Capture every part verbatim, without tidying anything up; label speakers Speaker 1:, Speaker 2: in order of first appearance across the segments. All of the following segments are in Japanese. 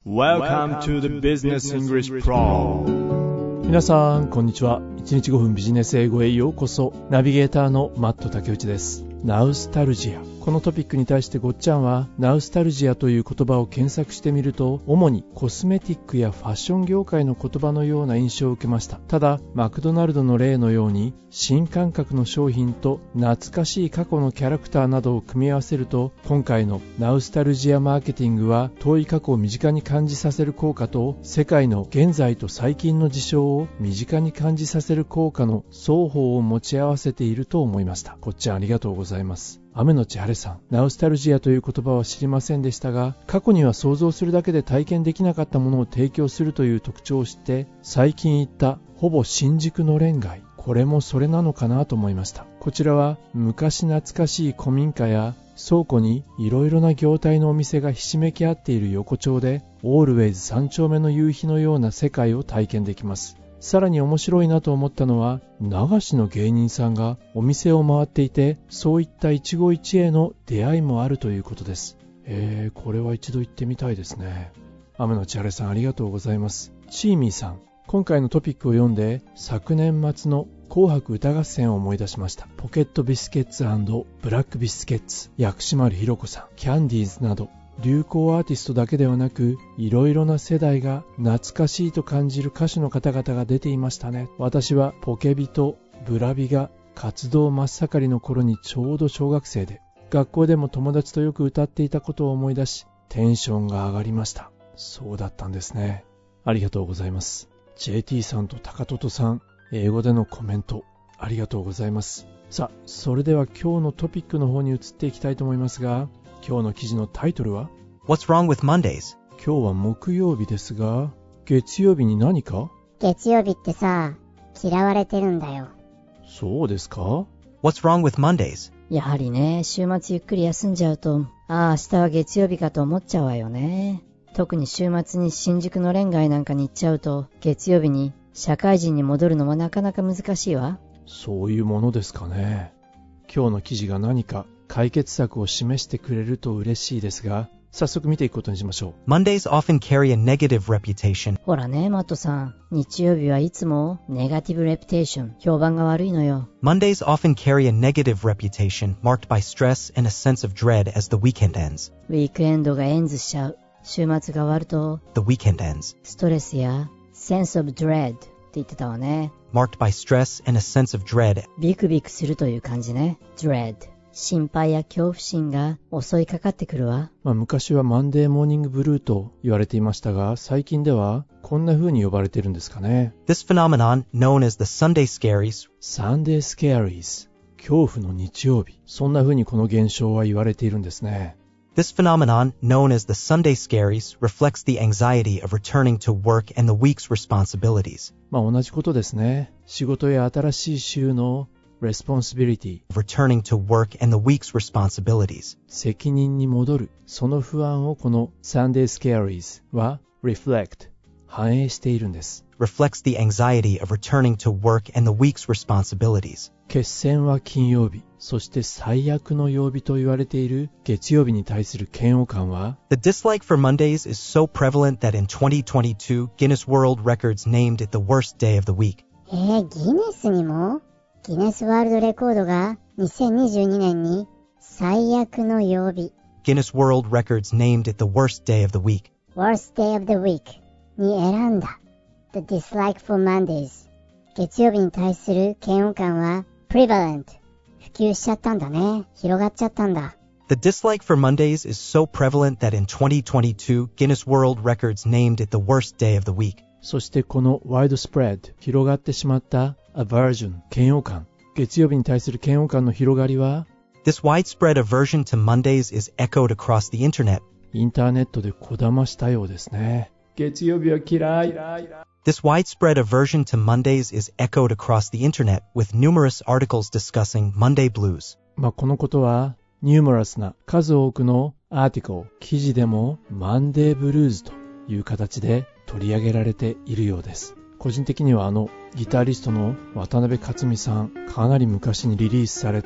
Speaker 1: Welcome to the Business English Pro。
Speaker 2: 皆さんこんにちは。いちにちごふんビジネス英語へようこそ。ナビゲーターのマット竹内です。ナウスタルジア、このトピックに対してごっちゃんはナウスタルジアという言葉を検索してみると、主にコスメティックやファッション業界の言葉のような印象を受けました。ただマクドナルドの例のように新感覚の商品と懐かしい過去のキャラクターなどを組み合わせると、今回のナウスタルジアマーケティングは遠い過去を身近に感じさせる効果と、世界の現在と最近の事象を身近に感じさせる効果の双方を持ち合わせていると思いました。こっちゃんありがとうございます。雨のち晴れさん、ナウスタルジアという言葉は知りませんでしたが、過去には想像するだけで体験できなかったものを提供するという特徴を知って、最近行ったほぼ新宿のれん街、これもそれなのかなと思いました。こちらは昔懐かしい古民家や倉庫にいろいろな業態のお店がひしめき合っている横丁で、オールウェイズ三丁目の夕日のような世界を体験できます。さらに面白いなと思ったのは、流しの芸人さんがお店を回っていて、そういった一期一会の出会いもあるということです。えー、これは一度行ってみたいですね。雨のち晴れさんありがとうございます。チーミーさん、今回のトピックを読んで昨年末の紅白歌合戦を思い出しました。ポケットビスケッツ&ブラックビスケッツ、薬師丸ひろ子さん、キャンディーズなど流行アーティストだけではなく、いろいろな世代が懐かしいと感じる歌手の方々が出ていましたね。私はポケビとブラビが活動真っ盛りの頃にちょうど小学生で、学校でも友達とよく歌っていたことを思い出し、テンションが上がりました。そうだったんですね。ありがとうございます。 ジェーティー さんと高トトさん、英語でのコメントありがとうございます。さあ、それでは今日のトピックの方に移っていきたいと思いますが、今日の記事のタイトルは
Speaker 3: What's wrong with Mondays?
Speaker 2: 今日は木曜日ですが、月曜日に何か？
Speaker 4: 月曜日ってさ、嫌われてるんだよ。
Speaker 2: そうですか？
Speaker 3: What's wrong with Mondays?
Speaker 5: やはりね、週末ゆっくり休んじゃうと、ああ明日は月曜日かと思っちゃうわよね。特に週末に新宿のれん街なんかに行っちゃうと、月曜日に社会人に戻るのもなかなか難しいわ。
Speaker 2: そういうものですかね。今日の記事が何か解決策を示してくれると嬉しいですが、早速見ていくことにしましょう。
Speaker 3: Mondays often carry a negative reputation.
Speaker 5: ほらね、マットさん、日曜日はいつもネガティブレピテーション、評判が悪いのよ。
Speaker 3: Mondays often carry a negative reputation marked by stress and a sense of dread as the weekend ends.
Speaker 5: ウィークエンドがエンズしちゃう。週末が終わると
Speaker 3: The weekend ends.
Speaker 5: ストレスや sense of dread って言ってたわね。
Speaker 3: Marked by stress and a sense of dread.
Speaker 5: ビクビクするという感じね。 dread、心配や恐怖心が襲いかかってくるわ。
Speaker 2: まあ、昔はマンデーモーニングブルーと言われていましたが、最近ではこんな風に呼ばれているんですかね。
Speaker 3: This phenomenon, known as the Sunday scaries,
Speaker 2: サンデースケアリーズ、恐怖の日曜日、そんな風にこの現象は言われているんですね。
Speaker 3: This phenomenon, known as the Sunday scaries, reflects the anxiety of returning to work and the week's responsibilities.
Speaker 2: まあ同じことですね。仕事や新しい週のresponsibility、
Speaker 3: Returning to work and the week's responsibilities.
Speaker 2: 責任に戻る、その不安をこの Sunday Scaries は reflect、 反映しているんです。
Speaker 3: Reflects the anxiety of returning to work and the week's responsibilities.
Speaker 2: 決戦は金曜日、そして最悪の曜日と言われている月曜日に対する嫌悪感は、
Speaker 3: The dislike for Mondays is so prevalent that in twenty twenty-two, Guinness World Records named it the worst day of the week.
Speaker 4: えー、ギネスにも？ギネスワールドレコードがにせんにじゅうにねんに最悪の曜日、
Speaker 3: Guinness World Records named it the worst day of the week.
Speaker 4: Worst Day of the Week に選んだ。The dislike for Mondays。月曜日に対する嫌悪感は prevalent。普及しちゃったんだね。広がっちゃったんだ。
Speaker 3: The dislike for Mondays is so prevalent that in twenty twenty-two, Guinness World Records named it the worst day of the week.
Speaker 2: そしてこの widespread、 広がってしまったaversion、 嫌悪感、月曜日に対する嫌悪感の広がりは、
Speaker 3: This widespread aversion to Mondays is echoed across the internet.
Speaker 2: インターネットでこだましたようですね。月曜日は嫌い。
Speaker 3: This widespread aversion to Mondays is echoed across the internet with numerous articles discussing Monday blues.
Speaker 2: まあこのことはニューモラスな数多くのアーティクル、記事でもマンデーブルーズという形で取り上げられているようです。個人的にはあのギタリストの渡辺克美さん、かなり昔にリリースされた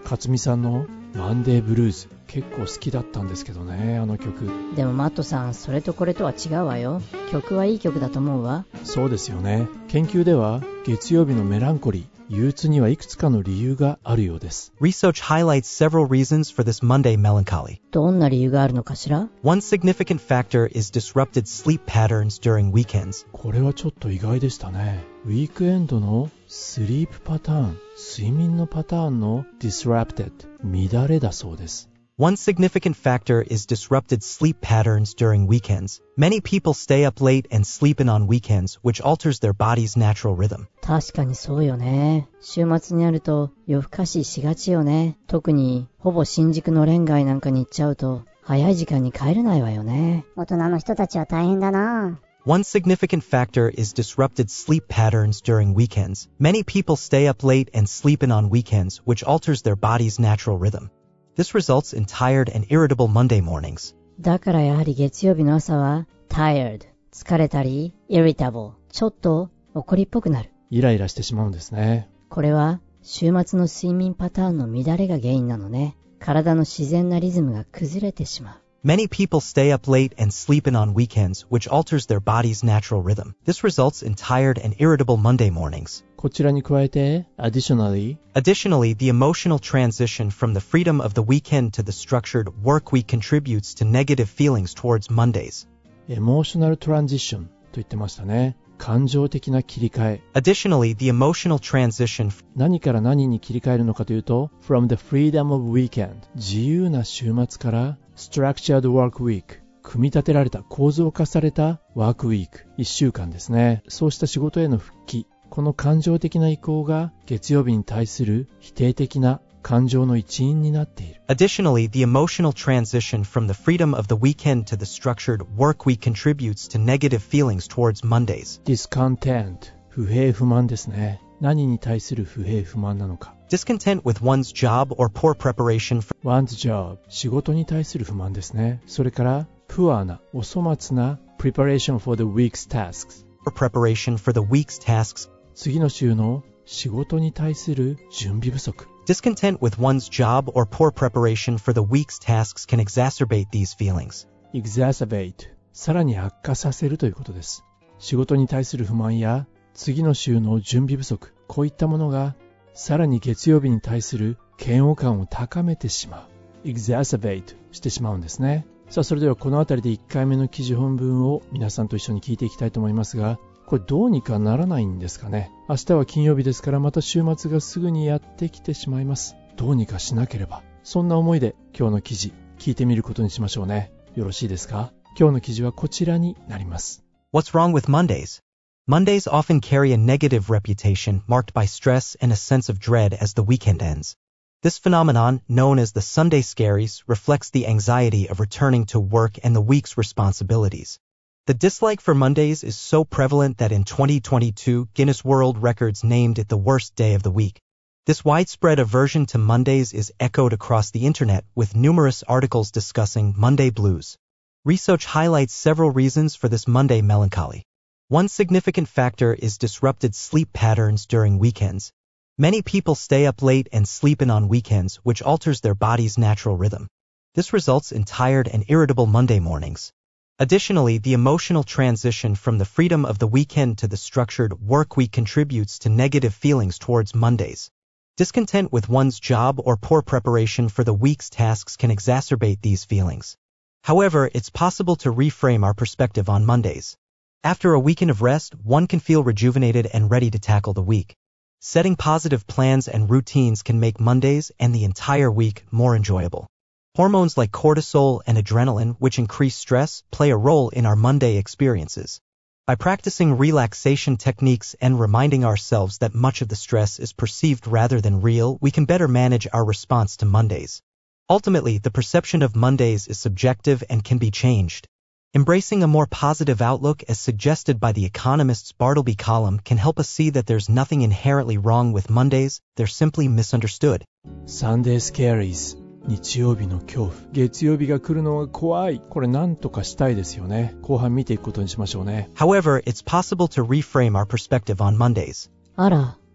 Speaker 2: 勝美さんのマンデーブルーズ結構好きだったんですけどね、あの曲。
Speaker 5: でもマットさん、それとこれとは違うわよ。曲はいい曲だと思うわ。
Speaker 2: そうですよね。研究では月曜日のメランコリー、憂鬱にはいくつかの理由があるようです。
Speaker 3: Research highlights several reasons for this Monday melancholy.
Speaker 5: どんな理由があるのかしら？
Speaker 3: One significant factor is disrupted sleep patterns during weekends.
Speaker 2: これはちょっと意外でしたね。ウィークエンドのスリープパターン、睡眠のパターンの disrupted、乱れだそうです。
Speaker 3: One significant factor is disrupted sleep patterns during weekends. Many people stay up late and sleep in on weekends, which alters their body's natural rhythm.
Speaker 5: 確かにそうよね。週末になると夜更かししがちよね。特にほぼ新宿の連街なんかに行っちゃうと早い時間に帰れないわよね。
Speaker 4: 大人の人たちは大変だな。
Speaker 3: One significant factor is disrupted sleep patterns during weekends. Many people stay up late and sleep in on weekends, which alters their body's natural rhythm. This results in tired and irritable Monday mornings.
Speaker 5: だからやはり月曜日の朝は tired、疲れたり irritable、ちょっと怒りっぽくなる。
Speaker 2: イライラしてしまうんですね。
Speaker 5: これは週末の睡眠パターンの乱れが原因なのね。体の自然なリズムが崩れてしまう。
Speaker 3: Many people stay up late and sleep in on weekends, which alters their body's natural rhythm. This results in tired and irritable Monday mornings.
Speaker 2: こちらに加えて additionally
Speaker 3: Additionally, the emotional transition from the freedom of the weekend to the structured work week contributes to negative feelings towards Mondays.
Speaker 2: emotional transition と言ってましたね。感情的な切り替え。
Speaker 3: Additionally, the emotional transition
Speaker 2: 何から何に切り替えるのかというと from the freedom of weekend 自由な週末から structured work week 組み立てられた構造化されたワークウィークいっしゅうかんですね。そうした仕事への復帰、この感情的な移行が月曜日に対する否定的な感情の一因になっている。
Speaker 3: Additionally, the emotional transition from the freedom of the weekend to the structured work week contributes to negative feelings towards Mondays.
Speaker 2: discontent 不平不満ですね。何に対する不平不満なのか。
Speaker 3: Discontent with one's job or poor preparation for
Speaker 2: one's job 仕事に対する不満ですね。それから poor なお粗末な preparation for the week's tasks
Speaker 3: preparation for the week's tasks.
Speaker 2: 次の週の仕事に対する準備不足。
Speaker 3: Discontent with one's job or poor preparation for the week's tasks can exacerbate these feelings.
Speaker 2: exacerbate さらに悪化させるということです。仕事に対する不満や次の週の準備不足、こういったものがさらに月曜日に対する嫌悪感を高めてしまう。exacerbate してしまうんですね。さあ、それではこのあたりでいっかいめの記事本文を皆さんと一緒に聞いていきたいと思いますが、これどうにかならないんですかね。明日は金曜日ですからまた週末がすぐにやってきてしまいます。どうにかしなければ。そんな思いで今日の記事聞いてみることにしましょうね。よろしいですか？今日の記事はこちらになります。
Speaker 3: What's wrong with Mondays? Mondays often carry a negative reputation marked by stress and a sense of dread as the weekend ends. This phenomenon, known as the Sunday scaries, reflects the anxiety of returning to work and the week's responsibilities. The dislike for Mondays is so prevalent that in twenty twenty-two, Guinness World Records named it the worst day of the week. This widespread aversion to Mondays is echoed across the internet with numerous articles discussing Monday blues. Research highlights several reasons for this Monday melancholy. One significant factor is disrupted sleep patterns during weekends. Many people stay up late and sleep in on weekends, which alters their body's natural rhythm. This results in tired and irritable Monday mornings. Additionally, the emotional transition from the freedom of the weekend to the structured work week contributes to negative feelings towards Mondays. Discontent with one's job or poor preparation for the week's tasks can exacerbate these feelings. However, it's possible to reframe our perspective on Mondays. After a weekend of rest, one can feel rejuvenated and ready to tackle the week. Setting positive plans and routines can make Mondays and the entire week more enjoyable. Hormones like cortisol and adrenaline, which increase stress, play a role in our Monday experiences. By practicing relaxation techniques and reminding ourselves that much of the stress is perceived rather than real, we can better manage our response to Mondays. Ultimately, the perception of Mondays is subjective and can be changed. Embracing a more positive outlook, as suggested by The Economist's Bartleby column, can help us see that there's nothing inherently wrong with Mondays, they're simply misunderstood.
Speaker 2: Sunday Scaries 日曜日の恐怖。月曜日が来るのが怖い。これなんとかしたいですよね。後半見ていくことにしましょうね。
Speaker 3: However, it's possible to reframe our perspective on Mondays.
Speaker 5: あら、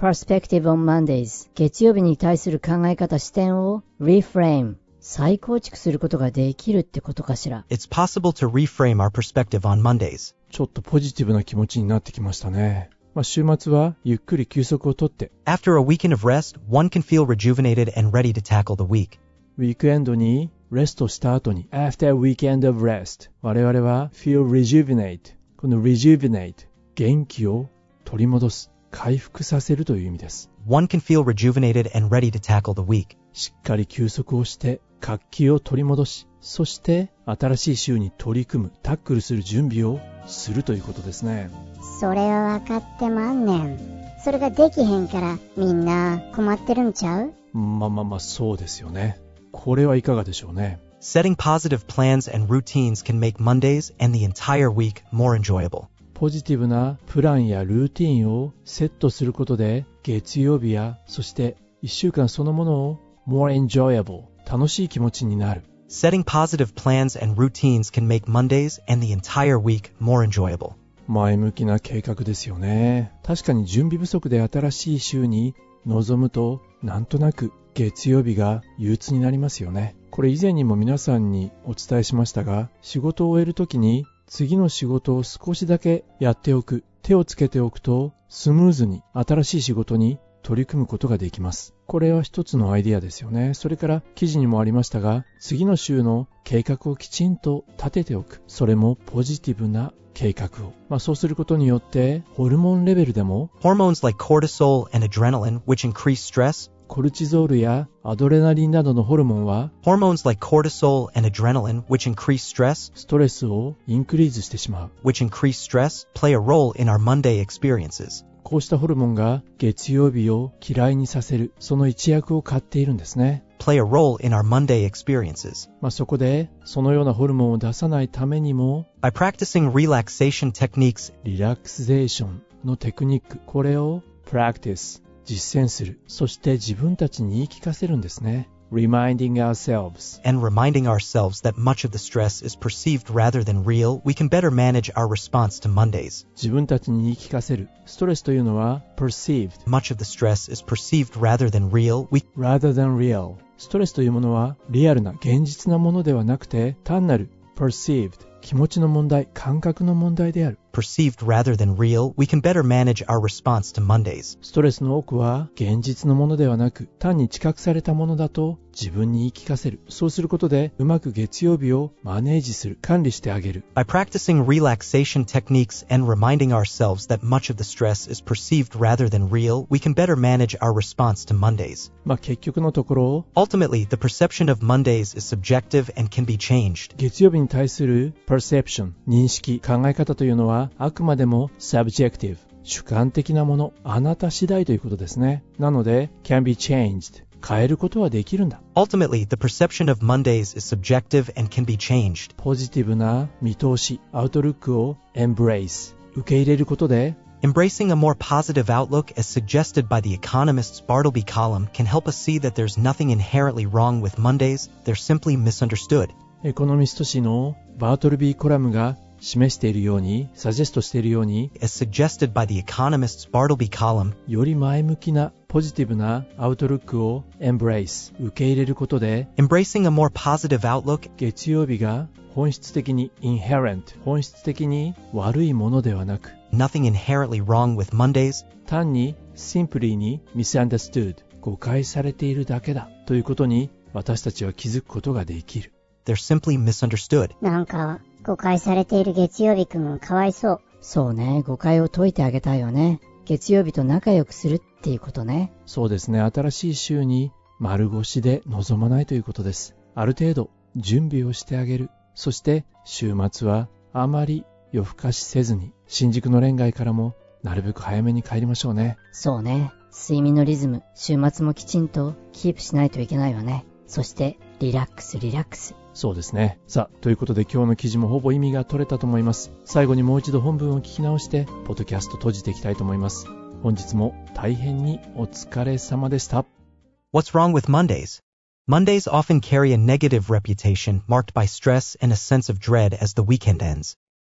Speaker 5: perspective on Mondays 月曜日に対する考え方視点を reframe 再構築することができるってことかしら。
Speaker 3: It's possible to reframe our perspective on Mondays.
Speaker 2: ちょっとポジティブな気持ちになってきましたね。まあ、週末はゆっくり休息をとって、
Speaker 3: After a weekend of rest, one can feel rejuvenated and ready to tackle the week.
Speaker 2: ウィークエンドにレストした後に After a weekend of rest 我々は feel rejuvenate この rejuvenate 元気を取り戻す回復させるという意味です。
Speaker 3: One can feel rejuvenated and ready to tackle the week.
Speaker 2: しっかり休息をして活気を取り戻し、そして新しい週に取り組むタックルする準備をするということですね。
Speaker 4: それは分かってまんねん。それができへんからみんな困ってるんちゃう？
Speaker 2: まあまあまあそうですよね。これはいかがでしょうね。
Speaker 3: Setting positive plans and routines can make Mondays and the entire week more enjoyable.
Speaker 2: ポジティブなプランやルーティンをセットすることで月曜日やそしていっしゅうかんそのものを more enjoyable 楽しい気持ちになる。
Speaker 3: Setting positive plans and routines can make Mondays and the entire week more enjoyable.
Speaker 2: 前向きな計画ですよね。確かに準備不足で新しい週に臨むとなんとなく月曜日が憂鬱になりますよね。これ以前にも皆さんにお伝えしましたが、仕事を終えるときに次の仕事を少しだけやっておく、手をつけておくとスムーズに新しい仕事に取り組むことができます。これは一つのアイデアですよね。それから記事にもありましたが、次の週の計画をきちんと立てておく。それもポジティブな計画を。まあそうすることによってホルモンレベルでも
Speaker 3: Hormones like cortisol and adrenaline, which increase stress,
Speaker 2: コルチゾールやアドレナリンなどのホルモンは
Speaker 3: Hormones like cortisol and adrenaline, which increase stress,
Speaker 2: ストレスをインクリーズしてしまう。
Speaker 3: which increase stress, play a role in our Monday experiences.
Speaker 2: こうしたホルモンが月曜日を嫌いにさせる、その一役を買っているんですね。
Speaker 3: Play a role in our Monday experiences.
Speaker 2: まあそこでそのようなホルモンを出さないためにも
Speaker 3: By practicing relaxation techniques,
Speaker 2: リラクゼーションのテクニック、これを practice 実践する。そして自分たちに言い聞かせるんですね。Reminding ourselves
Speaker 3: and reminding ourselves that much of the stress is perceived rather than real, we can better manage our response to Mondays.
Speaker 2: 自分たちに言い聞かせる。ストレスというのは perceived
Speaker 3: Much of the stress is perceived rather than real, we
Speaker 2: rather than real。ストレスというものはリアルな現実なものではなくて単なる perceived 気持ちの問題、感覚の問題である。
Speaker 3: perceived rather than real, we can better manage our response to Mondays.
Speaker 2: ストレスの多くは現実のものではなく単に知覚されたものだと自分に言い聞かせる。そうすることでうまく月曜日をマネージする、管理してあげる。
Speaker 3: By practicing relaxation techniques and reminding ourselves that much of the stress is perceived rather than real, we can better manage our response to Mondays.
Speaker 2: まあ結局のところ
Speaker 3: Ultimately, the perception of Mondays is subjective and can be changed.
Speaker 2: 月曜日に対する perception 認識、考え方というのはあくまでも subjective 主観的なもの、あなた次第ということですね。なので can be changed 変えることはできるんだ。
Speaker 3: Ultimately, the perception of Mondays is subjective and can be changed.
Speaker 2: ポジティブな見通し、アウトルックを embrace 受け入れることで
Speaker 3: Embracing a more positive outlook, as suggested by the Economist's Bartleby column, can help us see that there's nothing inherently wrong with Mondays, they're simply misunderstood.
Speaker 2: エコノミスト誌のバートルビーコラムが示しているように、サジェストしているように、
Speaker 3: As suggested by the Economist's Bartleby column,
Speaker 2: より前向きなポジティブなアウトルックを embrace 受け入れることで、
Speaker 3: embracing a more positive outlook,
Speaker 2: 月曜日が本質的に inherent 本質的に悪いものではなく、
Speaker 3: nothing inherently wrong with Mondays,
Speaker 2: 単に simply に misunderstood 誤解されているだけだということに私たちは気づくことができる。
Speaker 3: they're simply misunderstood.
Speaker 4: なんか誤解されている月曜日くんかわいそう。
Speaker 5: そうね、誤解を解いてあげたいよね。月曜日と仲良くするっていうことね。
Speaker 2: そうですね、新しい週に丸腰で臨まないということです。ある程度準備をしてあげる。そして週末はあまり夜更かしせずに新宿の恋街からもなるべく早めに帰りましょうね。
Speaker 5: そうね、睡眠のリズム、週末もきちんとキープしないといけないわね。そしてリラックスリラックス。
Speaker 2: そうですね。さあ、ということで今日の記事もほぼ意味が取れたと思います。最後にもう一度本文を聞き直してポッドキャスト閉じていきたいと思います。本日も大変にお疲れ様でした。
Speaker 3: What's wrong with Mondays? Mondays often carry a negative reputation marked by stress and a sense of dread as the weekend ends.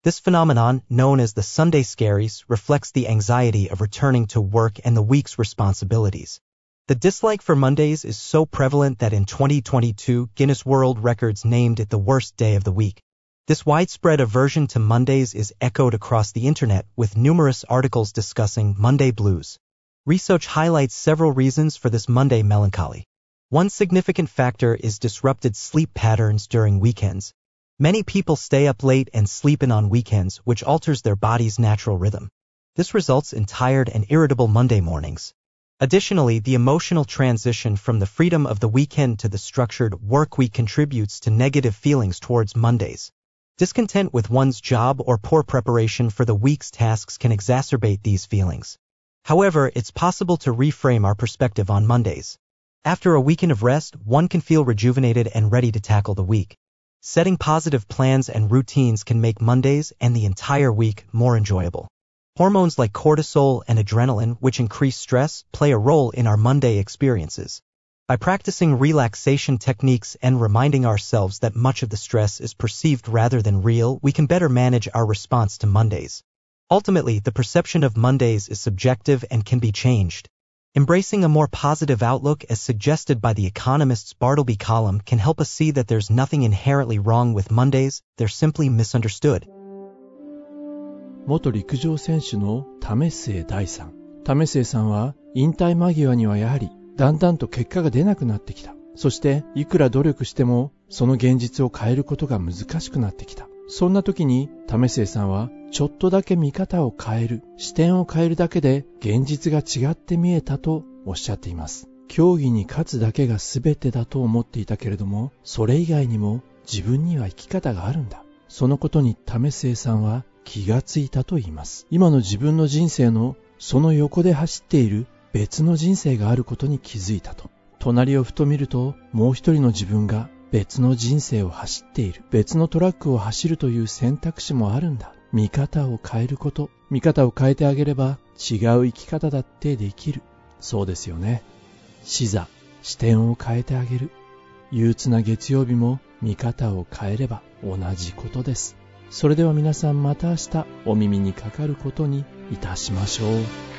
Speaker 3: This phenomenon, known as the Sunday scaries, reflects the anxiety of returning to work and the week's responsibilities. The dislike for Mondays is so prevalent that in twenty twenty-two, Guinness World Records named it the worst day of the week. This widespread aversion to Mondays is echoed across the internet, with numerous articles discussing Monday blues. Research highlights several reasons for this Monday melancholy. One significant factor is disrupted sleep patterns during weekends. Many people stay up late and sleep in on weekends, which alters their body's natural rhythm. This results in tired and irritable Monday mornings. Additionally, the emotional transition from the freedom of the weekend to the structured work week contributes to negative feelings towards Mondays. Discontent with one's job or poor preparation for the week's tasks can exacerbate these feelings. However, it's possible to reframe our perspective on Mondays. After a weekend of rest, one can feel rejuvenated and ready to tackle the week. Setting positive plans and routines can make Mondays and the entire week more enjoyable. Hormones like cortisol and adrenaline, which increase stress, play a role in our Monday experiences. By practicing relaxation techniques and reminding ourselves that much of the stress is perceived rather than real, we can better manage our response to Mondays. Ultimately, the perception of Mondays is subjective and can be changed. Embracing a more positive outlook, as suggested by the economist's Bartleby column, can help us see that there's nothing inherently wrong with Mondays, they're simply misunderstood.
Speaker 2: 元陸上選手の為末大さん。為末さんは引退間際にはやはりだんだんと結果が出なくなってきた。そしていくら努力してもその現実を変えることが難しくなってきた。そんな時に為末さんはちょっとだけ見方を変える、視点を変えるだけで現実が違って見えたとおっしゃっています。競技に勝つだけが全てだと思っていたけれども、それ以外にも自分には生き方があるんだ。そのことに為末さんは気がついたと言います。今の自分の人生のその横で走っている別の人生があることに気づいたと。隣をふと見ると、もう一人の自分が別の人生を走っている。別のトラックを走るという選択肢もあるんだ。見方を変えること。見方を変えてあげれば違う生き方だってできる。そうですよね。視座、視点を変えてあげる。憂鬱な月曜日も見方を変えれば同じことです。それでは皆さん、また明日お耳にかかることにいたしましょう。